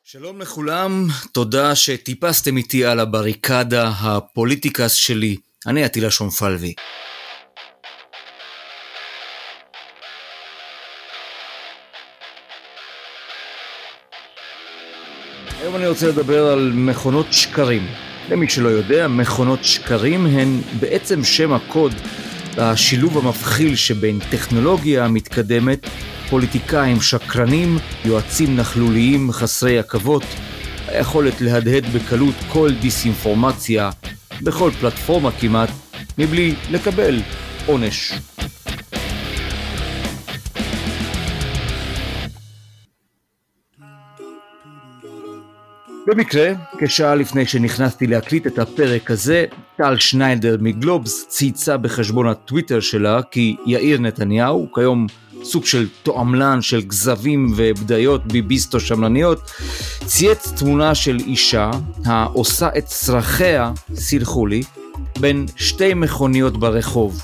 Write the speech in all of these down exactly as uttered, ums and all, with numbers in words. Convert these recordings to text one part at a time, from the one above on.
שלום לכולם, תודה שטיפסתם איתי על הבריקדה הפוליטיקס שלי. אני עטילה שומפלבי. היום אני רוצה לדבר על מכונות שקרים. למי שלא יודע, מכונות שקרים הן בעצם שם הקוד לשילוב המבחיל שבין טכנולוגיה מתקדמת, פוליטיקאים שקרנים, יועצים נכלוליים חסרי עכבות, היכולת להדהד בקלות כל דיסאינפורמציה בכל פלטפורמה כמעט, מבלי לקבל עונש. במקרה, כשעה לפני שנכנסתי להקליט את הפרק הזה, טל שניידר מגלובס צייצה בחשבון הטוויטר שלה כי יאיר נתניהו, כיום סוג של תועמלן של גזבים ובדיות ביביסטו שמלניות, צייץ תמונה של אישה העושה את צרכיה, סלחו לי, בין שתי מכוניות ברחוב.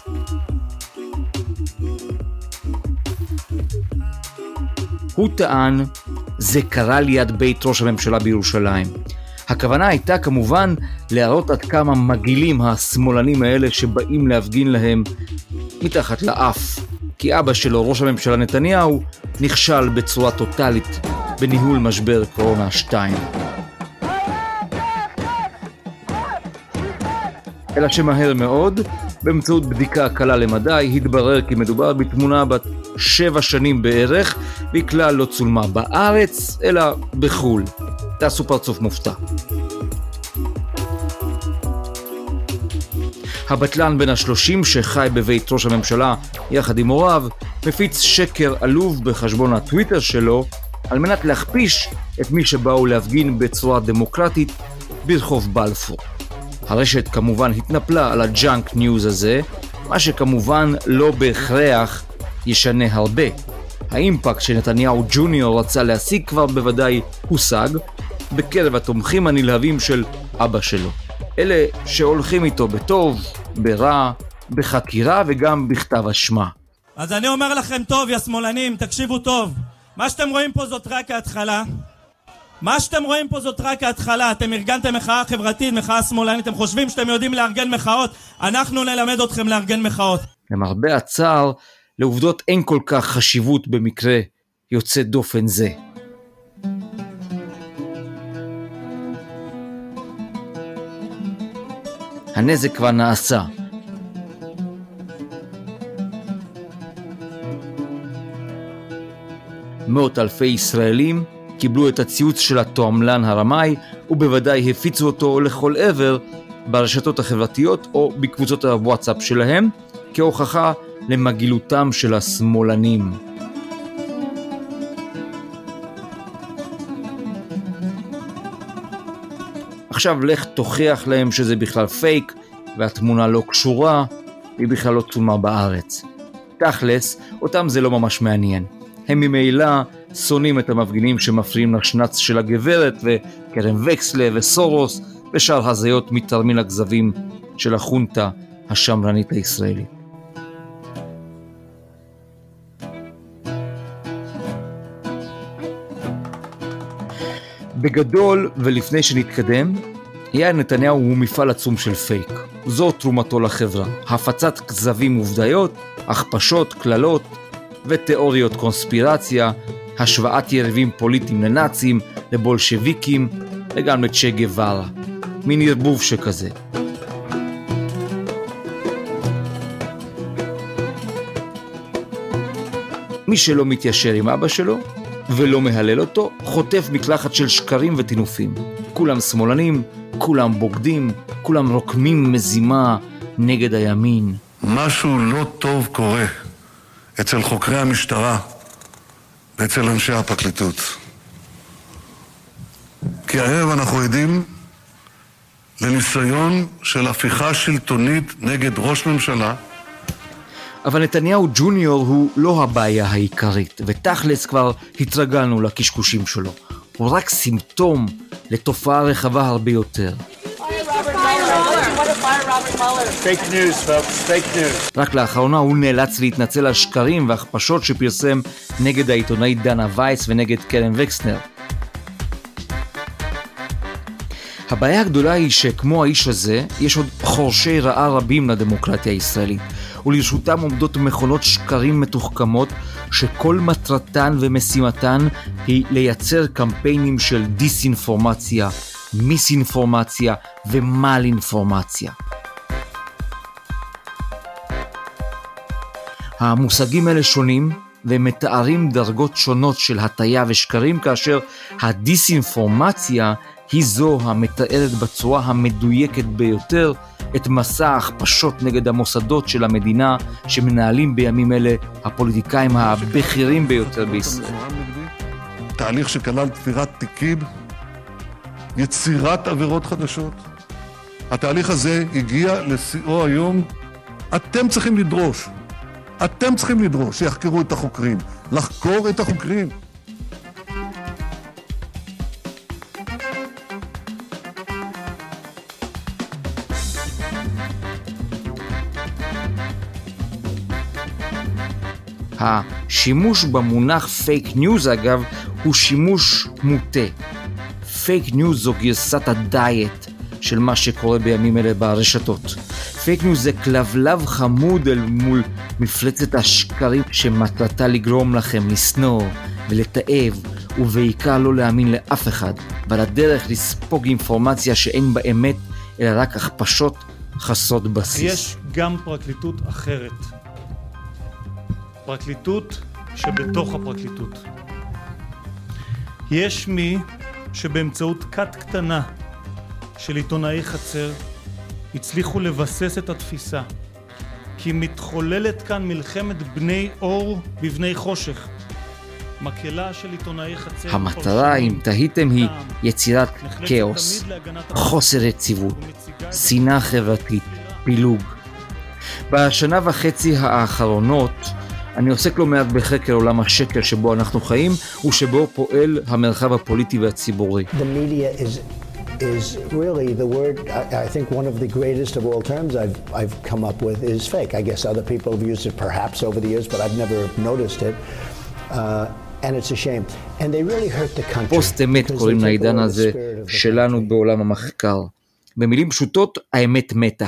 הוא טען, זה קרה ליד בית ראש הממשלה בירושלים. הכוונה הייתה כמובן להראות עד כמה מגעילים השמאלנים האלה שבאים להפגין להם מתחת לאף. כי אבא שלו, ראש הממשלה נתניהו, נכשל בצורה טוטלית בניהול משבר קורונה שתיים. אלא שמהר מאוד, באמצעות בדיקה קלה למדי, התברר כי מדובר בתמונה בת שבע שנים בערך, והיא כלל לא צולמה בארץ, אלא בחול. תעשו פרצוף מופתע. הבטלן בן השלושים שחי בבית ראש הממשלה יחד עם הוריו, מפיץ שקר עלוב בחשבון הטוויטר שלו, על מנת להכפיש את מי שבאו להפגין בצורה דמוקרטית ברחוב בלפור. הרשת כמובן התנפלה על הג'אנק ניוז הזה, מה שכמובן לא בהכרח ישנה הרבה. האימפקט שנתניהו ג'וניור רצה להשיג כבר בוודאי הושג, בקרב התומכים הנלהבים של אבא שלו. אלה שהולכים איתו בטוב, ברע, בחקירה וגם בכתב אשמה. אז אני אומר לכם טוב, יא שמאלנים, תקשיבו טוב. מה שאתם רואים פה זאת רק ההתחלה. מה שאתם רואים פה זאת רק ההתחלה. אתם ארגנתם מחאה חברתית, מחאה שמאלנית. אתם חושבים שאתם יודעים לארגן מחאות? אנחנו נלמד אתכם לארגן מחאות. למרבה הצער, לעובדות אין כל כך חשיבות במקרה יוצא דופן זה. הנזק כבר נעשה. מאות אלפי ישראלים קיבלו את הציוץ של התועמלן הרמאי, ובוודאי הפיצו אותו לכל עבר ברשתות החברתיות או בקבוצות הוואטסאפ שלהם, כהוכחה למגילותם של השמאלנים. עכשיו לך תוכיח להם שזה בכלל פייק, והתמונה לא קשורה, והיא בכלל לא צולמה בארץ. תכלס, אותם זה לא ממש מעניין. הם ממילא שונאים את המפגינים שמפריעים לשנץ של הגברת, וקרן וקסלה וסורוס, ושאר הזיות מתרמיל הגזבים של החונטה השמרנית הישראלית. בגדול, ולפני שנתקדם, יאיר נתניהו הוא מפעל עצום של פייק. זו תרומתו לחברה. הפצת כזבים ובדיות, הכפשות, כללות ותיאוריות קונספירציה, השוואת יריבים פוליטיים לנאצים, לבולשוויקים וגם לצ'ה גווארה. מין ערבוב שכזה. מי שלא מתיישר עם אבא שלו ולא מהלל אותו, חוטף מקלחת של שקרים ותינופים. כולם שמאלנים, כולם בוגדים, כולם רוקמים מזימה נגד הימין. משהו לא טוב קורה אצל חוקרי המשטרה ואצל אנשי הפרקליטות. כי הערב אנחנו עדים לניסיון של הפיכה שלטונית נגד ראש ממשלה. אבל נתניהו ג'וניור הוא לא הבעיה העיקרית, ותכלס כבר התרגלנו לקשקושים שלו. הוא רק סימפטום לתופעה רחבה הרבה יותר. Fake news, folks. Fake news. רק לאחרונה הוא נאלץ להתנצל על שקרים והכפשות שפרסם נגד העיתונאית דנה וייס ונגד קרן וקסנר. הבעיה הגדולה היא שכמו האיש הזה, יש עוד חורשי רעה רבים לדמוקרטיה הישראלית, ולרשותם עומדות מכונות שקרים מתוחכמות, שכל מטרתן ומשימתן היא לייצר קמפיינים של דיסאינפורמציה, מיסאינפורמציה ומאלאינפורמציה. המושגים האלה שונים, והם מתארים דרגות שונות של הטיה ושקרים, כאשר הדיסאינפורמציה היא זו המתארת בצורה המדויקת ביותר את מסע ההכפשות נגד המוסדות של המדינה שמנהלים בימים אלה הפוליטיקאים הבכירים ביותר בישראל. תהליך שכלל תפירת תיקים, יצירת עבירות חדשות. התהליך הזה הגיע לשיאו היום. אתם צריכים לדרוש, אתם צריכים לדרוש שיחקרו את החוקרים, לחקור את החוקרים. השימוש במונח פייק ניוז, אגב, הוא שימוש מוטה. פייק ניוז זו גרסת הדיאט של מה שקורה בימים אלה ברשתות. פייק ניוז זה כלבלב חמוד אל מול מפלצת השקרים שמטרתה לגרום לכם לשנוא ולתאב, ובעיקר לא להאמין לאף אחד, ועל הדרך לספוג אינפורמציה שאין בה אמת, אלא רק הכפשות חסרות בסיס. יש גם פרקליטות אחרת. פרקליטות שבתוך הפרקליטות. יש מי שבאמצעות כת קטנה של עיתונאי חצר הצליחו לבסס את התפיסה כי מתחוללת כאן מלחמת בני אור בבני חושך. מקהלה של עיתונאי חצר. המטרה, אם תהיתם, היא יצירת כאוס, חוסר יציבות, שנאה חברתית, פילוג. בשנה וחצי האחרונות אני עוסק לא מעט בחקר עולם השקר שבו אנחנו חיים ושבו פועל המרחב הפוליטי והציבורי. The media is is really the word I, I think one of the greatest of all terms I've I've come up with is fake. I guess other people have used it perhaps over the years, but I've never noticed it. Uh, and it's a shame. And they really hurt the country. פוסט אמת קוראים לעידן הזה שלנו בעולם המחקר. במילים פשוטות, האמת מתה.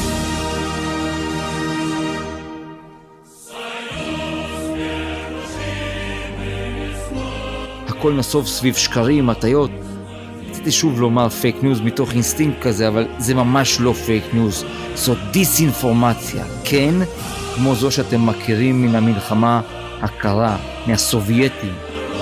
הכל נסוב סביב שקרים, הטיות. רציתי שוב לומר פייק ניוז מתוך אינסטינקט כזה, אבל זה ממש לא פייק ניוז. זו דיסאינפורמציה, כן, כמו זו שאתם מכירים מן המלחמה הקרה, מהסובייטים.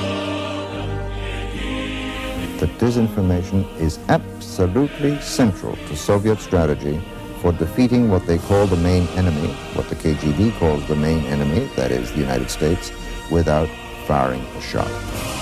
The disinformation is absolutely central to Soviet strategy for defeating what they call the main enemy, what the K G B calls the main enemy, that is the United States, without firing a shot.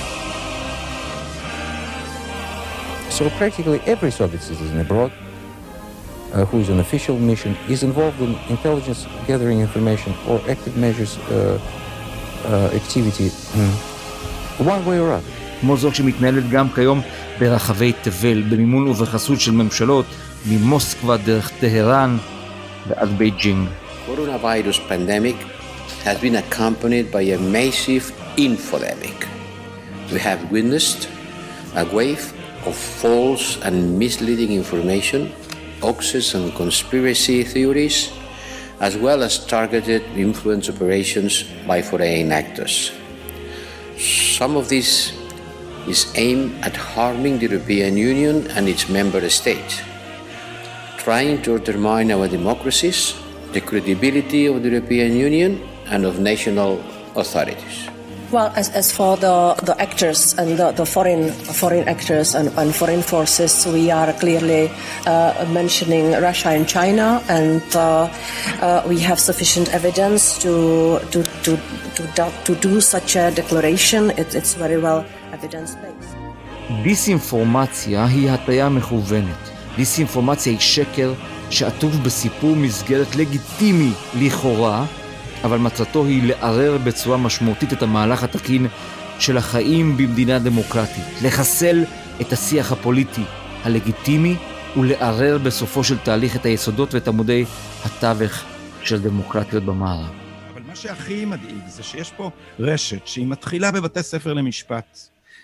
So practically every Soviet citizen abroad uh, who is on official mission is involved in intelligence gathering information or active measures uh, uh, activity mm. one way or other. כמו זו שמתנהלת גם כיום ברחבי תבל, במימון ובחסות של ממשלות, ממוסקבה דרך טהרן ועד בייג'ינג. Coronavirus pandemic has been accompanied by a massive infodemic. We have witnessed a wave of false and misleading information, hoaxes and conspiracy theories, as well as targeted influence operations by foreign actors. Some of this is aimed at harming the European Union and its member states, trying to undermine our democracies, the credibility of the European Union and of national authorities. Well, as, as for the, the actors and the, the foreign foreign actors and, and foreign forces, we are clearly uh, mentioning Russia and China, and uh, uh, we have sufficient evidence to to to to, to do such a declaration. It, it's very well evidence-based. דיסאינפורמציה היא הטיה מכוונת. דיסאינפורמציה היא שקר שעטוף בסיפור מסגרת לגיטימי לכאורה, אבל מטרתו היא לערער בצורה משמעותית את המהלך התקין של החיים במדינה דמוקרטית, לחסל את השיח הפוליטי הלגיטימי ולערער בסופו של תהליך את היסודות ואת עמודי התווך של דמוקרטיות במערב. אבל מה שהכי מדאיג זה שיש פה רשת שהיא מתחילה בבתי ספר למשפט,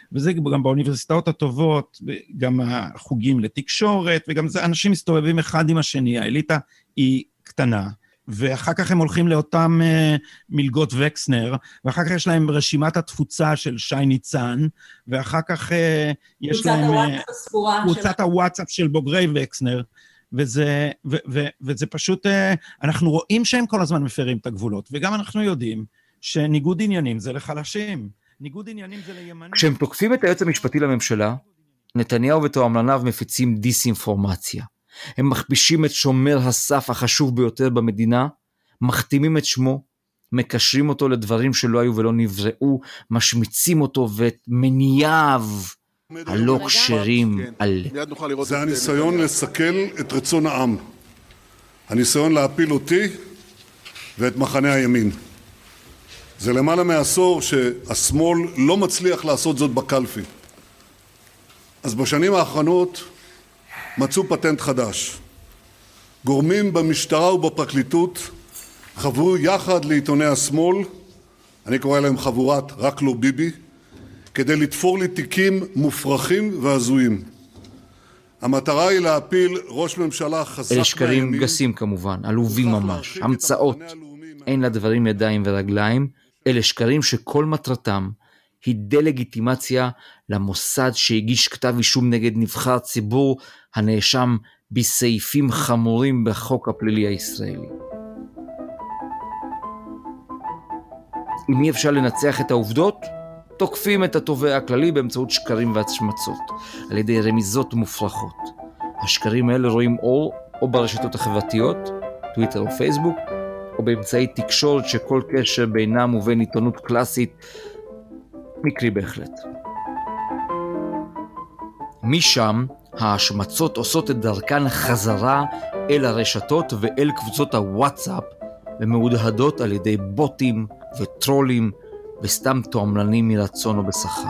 וזה גם באוניברסיטאות הטובות, גם החוגים לתקשורת, וגם זה, אנשים מסתובבים אחד עם השני, האליטה היא קטנה, ואחר כך הם הולכים לאותם uh, מלגות וקסנר, ואחר כך יש להם רשימת התפוצה של שי ניצן, ואחר כך uh, יש להם uh, קבוצת הוואטסאפ של בוגרי וקסנר, וזה, ו, ו, וזה פשוט, uh, אנחנו רואים שהם כל הזמן מפרים את הגבולות, וגם אנחנו יודעים שניגוד עניינים זה לחלשים, ניגוד עניינים זה לימנים. כשהם תוקפים את היועץ המשפטי לממשלה, נתניהו ותועמלניו מפיצים דיסאינפורמציה. הם מכפישים את שומר הסף החשוב ביותר במדינה, מחתימים את שמו, מקשרים אותו לדברים שלא היו ולא נבראו, משמיצים אותו ואת מניעיו הלא כשרים על... זה הניסיון לסכל את רצון העם. הניסיון להפיל אותי ואת מחנה הימין. זה למעלה מעשור שהשמאל לא מצליח לעשות זאת בקלפי. אז בשנים האחרונות מצאו פטנט חדש. גורמים במשטרה ובפרקליטות חברו יחד לעיתוני השמאל, אני קורא להם חבורת רק לא ביבי, כדי לתפור לי תיקים מופרכים והזויים. המטרה היא להפיל ראש ממשלה חזק אלה שקרים גסים כמובן, עלובים ממש, המצאות. אין לדברים ידיים ורגליים, אלה שקרים שכל מטרתם היא דה-לגיטימציה למוסד שהגיש כתב אישום נגד נבחר ציבור הנאשם בסעיפים חמורים בחוק הפלילי הישראלי. אם אי אפשר לנצח את העובדות, תוקפים את התובע הכללי באמצעות שקרים והשמצות, על ידי רמיזות מופרכות. השקרים האלה רואים אור או ברשתות החברתיות, טוויטר או פייסבוק, או באמצעי תקשורת שכל קשר בינם ובין עיתונות קלאסית מקרי בהחלט. משם ההשמצות עושות את דרכן חזרה אל הרשתות ואל קבוצות הוואטסאפ, ומעודהדות על ידי בוטים וטרולים וסתם תועמלנים מרצון או בשכר.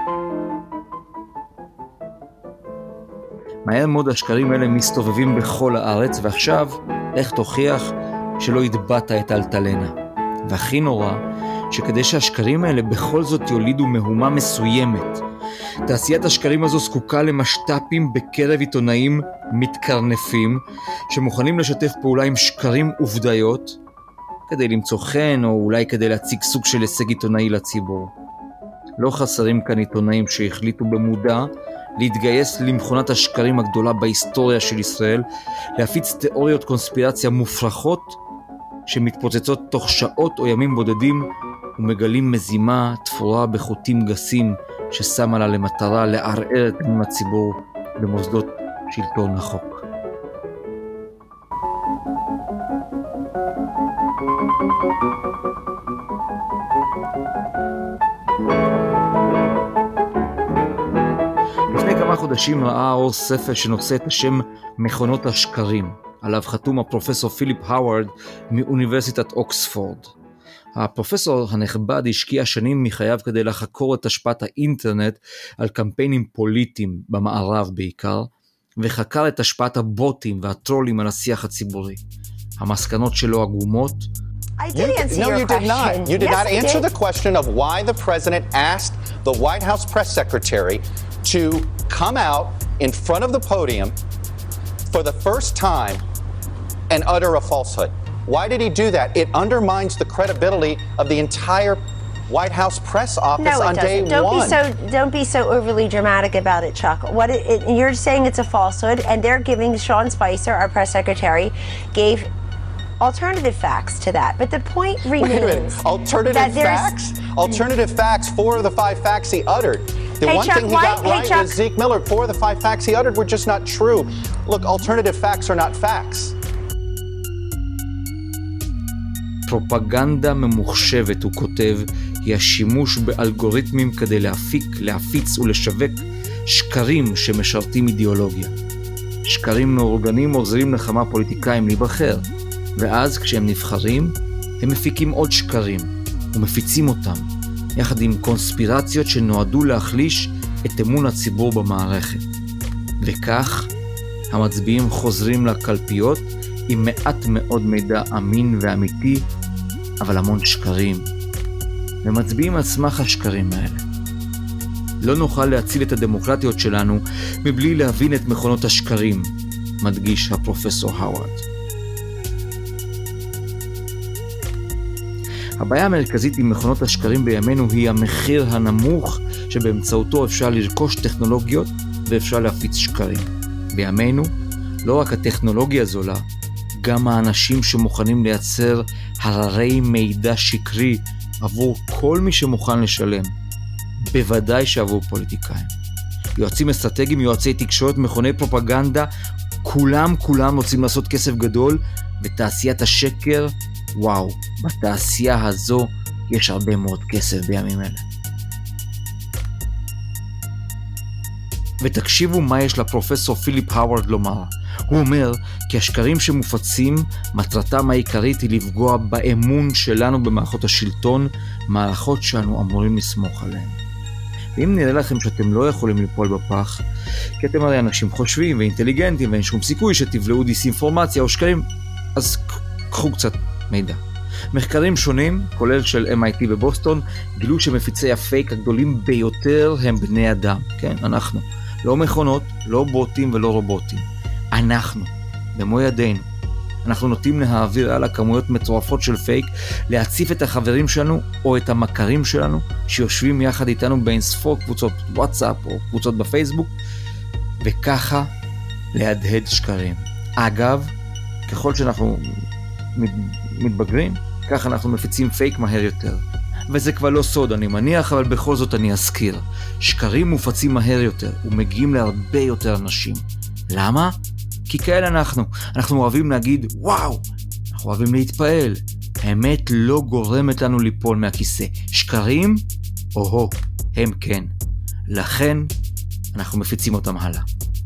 מהר מאוד השקרים האלה מסתובבים בכל הארץ, ועכשיו איך תוכיח שלא ידבט את אלטלנה. והכי נורא, שכדי שהשקרים האלה בכל זאת יולידו מהומה מסוימת, תעשיית השקרים הזו זקוקה למשטפים בקרב עיתונאים מתקרנפים, שמוכנים לשתף פעולה עם שקרים ובדיות, כדי למצוא חן או אולי כדי להציג סוג של הישג עיתונאי לציבור. לא חסרים כאן עיתונאים שהחליטו במודע להתגייס למכונת השקרים הגדולה בהיסטוריה של ישראל, להפיץ תיאוריות קונספירציה מופרכות שמתפוצצות תוך שעות או ימים בודדים ומגלים מזימה תפורה בחוטים גסים ששמה לה למטרה לערער את אמון הציבור במוסדות שלטון החוק. לפני כמה חודשים ראה אור ספר שנושא את השם מכונות השקרים, עליו חתום הפרופסור פיליפ האוורד מאוניברסיטת אוקספורד. הפרופסור הנכבד השקיע שנים מחייו כדי לחקור את השפעת האינטרנט על קמפיינים פוליטיים במערב בעיקר, וחקר את השפעת הבוטים והטרולים על השיח הציבורי. המסקנות שלו עגומות. I did answer no, your you question. Did not. You did yes, not answer did. the question of why the president asked the White House press secretary to come out in front of the podium for the first time and utter a falsehood. Why did he do that? It undermines the credibility of the entire White House press office no, on day don't one. Be so, don't be so overly dramatic about it, Chuck. What it, it, you're saying it's a falsehood, and they're giving Sean Spicer, our press secretary, gave alternative facts to that. But the point remains. Wait a minute. Alternative facts? Alternative facts, four of the five facts he uttered. The hey, one Chuck, thing he why, got hey, right Chuck. was Zeke Miller. Four of the five facts he uttered were just not true. Look, alternative facts are not facts. פרופגנדה ממוחשבת, הוא כותב, היא השימוש באלגוריתמים כדי להפיק, להפיץ ולשווק שקרים שמשרתים אידיאולוגיה. שקרים מאורגנים עוזרים לכמה פוליטיקאים להיבחר, ואז כשהם נבחרים, הם מפיקים עוד שקרים, ומפיצים אותם, יחד עם קונספירציות שנועדו להחליש את אמון הציבור במערכת. וכך, המצביעים חוזרים לקלפיות עם מעט מאוד מידע אמין ואמיתי, אבל המון שקרים. ומצביעים על סמך השקרים האלה. לא נוכל להציל את הדמוקרטיות שלנו מבלי להבין את מכונות השקרים, מדגיש הפרופסור האוורד. הבעיה המרכזית עם מכונות השקרים בימינו היא המחיר הנמוך שבאמצעותו אפשר לרכוש טכנולוגיות ואפשר להפיץ שקרים. בימינו לא רק הטכנולוגיה זולה, גם האנשים שמוכנים לייצר הררי מידע שקרי עבור כל מי שמוכן לשלם, בוודאי שעבור פוליטיקאים. יועצים אסטרטגיים, יועצי תקשורת, מכוני פרופגנדה, כולם כולם רוצים לעשות כסף גדול, ותעשיית השקר, וואו, בתעשייה הזו יש הרבה מאוד כסף בימים אלה. ותקשיבו מה יש לפרופסור פיליפ האוורד לומר. הוא אומר כי השקרים שמופצים, מטרתם העיקרית היא לפגוע באמון שלנו במערכות השלטון, מערכות שאנו אמורים לסמוך עליהן. ואם נראה לכם שאתם לא יכולים ליפול בפח, כי אתם הרי אנשים חושבים ואינטליגנטים ואין שום סיכוי שתבלעו דיסאינפורמציה או שקרים, אז קחו קצת מידע. מחקרים שונים, כולל של אם איי טי בבוסטון, גילו שמפיצי הפייק הגדולים ביותר הם בני אדם, כן, אנחנו. לא מכונות, לא בוטים ולא רובוטים. אנחנו, במו ידינו. אנחנו נוטים להעביר על הכמויות מטורפות של פייק, להציף את החברים שלנו או את המכרים שלנו, שיושבים יחד איתנו באינספור קבוצות וואטסאפ או קבוצות בפייסבוק, וככה להדהד שקרים. אגב, ככל שאנחנו מתבגרים, ככה אנחנו מפיצים פייק מהר יותר. וזה כבר לא סוד, אני מניח, אבל בכל זאת אני אזכיר. שקרים מופצים מהר יותר, ומגיעים להרבה יותר אנשים. למה? כי כאלה אנחנו. אנחנו אוהבים להגיד, וואו, אנחנו אוהבים להתפעל. האמת לא גורמת לנו ליפול מהכיסא. שקרים? או-הו, הם כן. לכן, אנחנו מפיצים אותם הלאה.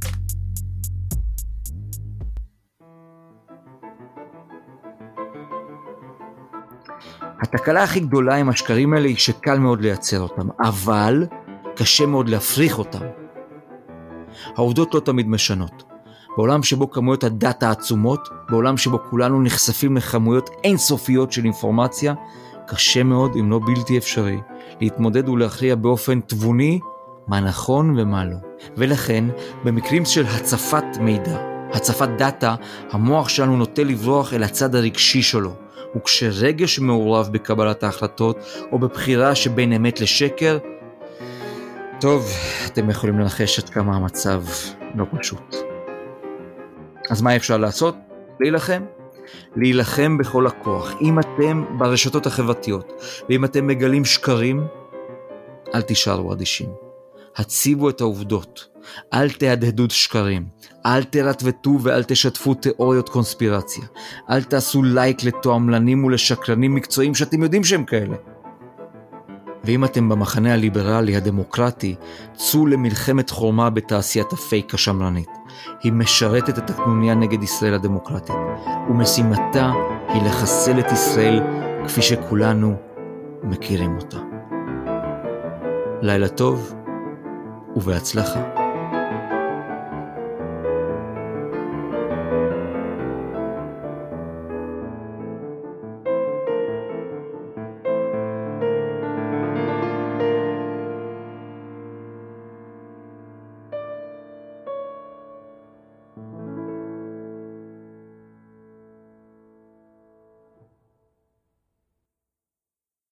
התקלה הכי גדולה עם השקרים האלה היא שקל מאוד לייצר אותם, אבל קשה מאוד להפריך אותם. העובדות לא תמיד משנות. בעולם שבו כמויות הדאטה עצומות, בעולם שבו כולנו נחשפים לכמויות אינסופיות של אינפורמציה, קשה מאוד, אם לא בלתי אפשרי, להתמודד ולהכריע באופן תבוני מה נכון ומה לא. ולכן, במקרים של הצפת מידע, הצפת דאטה, המוח שלנו נוטה לברוח אל הצד הרגשי שלו, וכשרגש מעורב בקבלת ההחלטות או בבחירה שבין אמת לשקר, טוב, אתם יכולים לנחש עד כמה המצב לא פשוט. אז מה אפשר לעשות? להילחם. להילחם בכל הכוח. אם אתם ברשתות החברתיות, ואם אתם מגלים שקרים, אל תישארו אדישים. הציבו את העובדות. אל תהדהדו שקרים. אל תרטבטו ואל תשתפו תיאוריות קונספירציה. אל תעשו לייק לתועמלנים ולשקרנים מקצועיים שאתם יודעים שהם כאלה. ואם אתם במחנה הליברלי הדמוקרטי, צאו למלחמת חורמה בתעשיית הפייק השמרנית. היא משרתת את הקנוניה נגד ישראל הדמוקרטית, ומשימתה היא לחסל את ישראל כפי שכולנו מכירים אותה. לילה טוב ובהצלחה.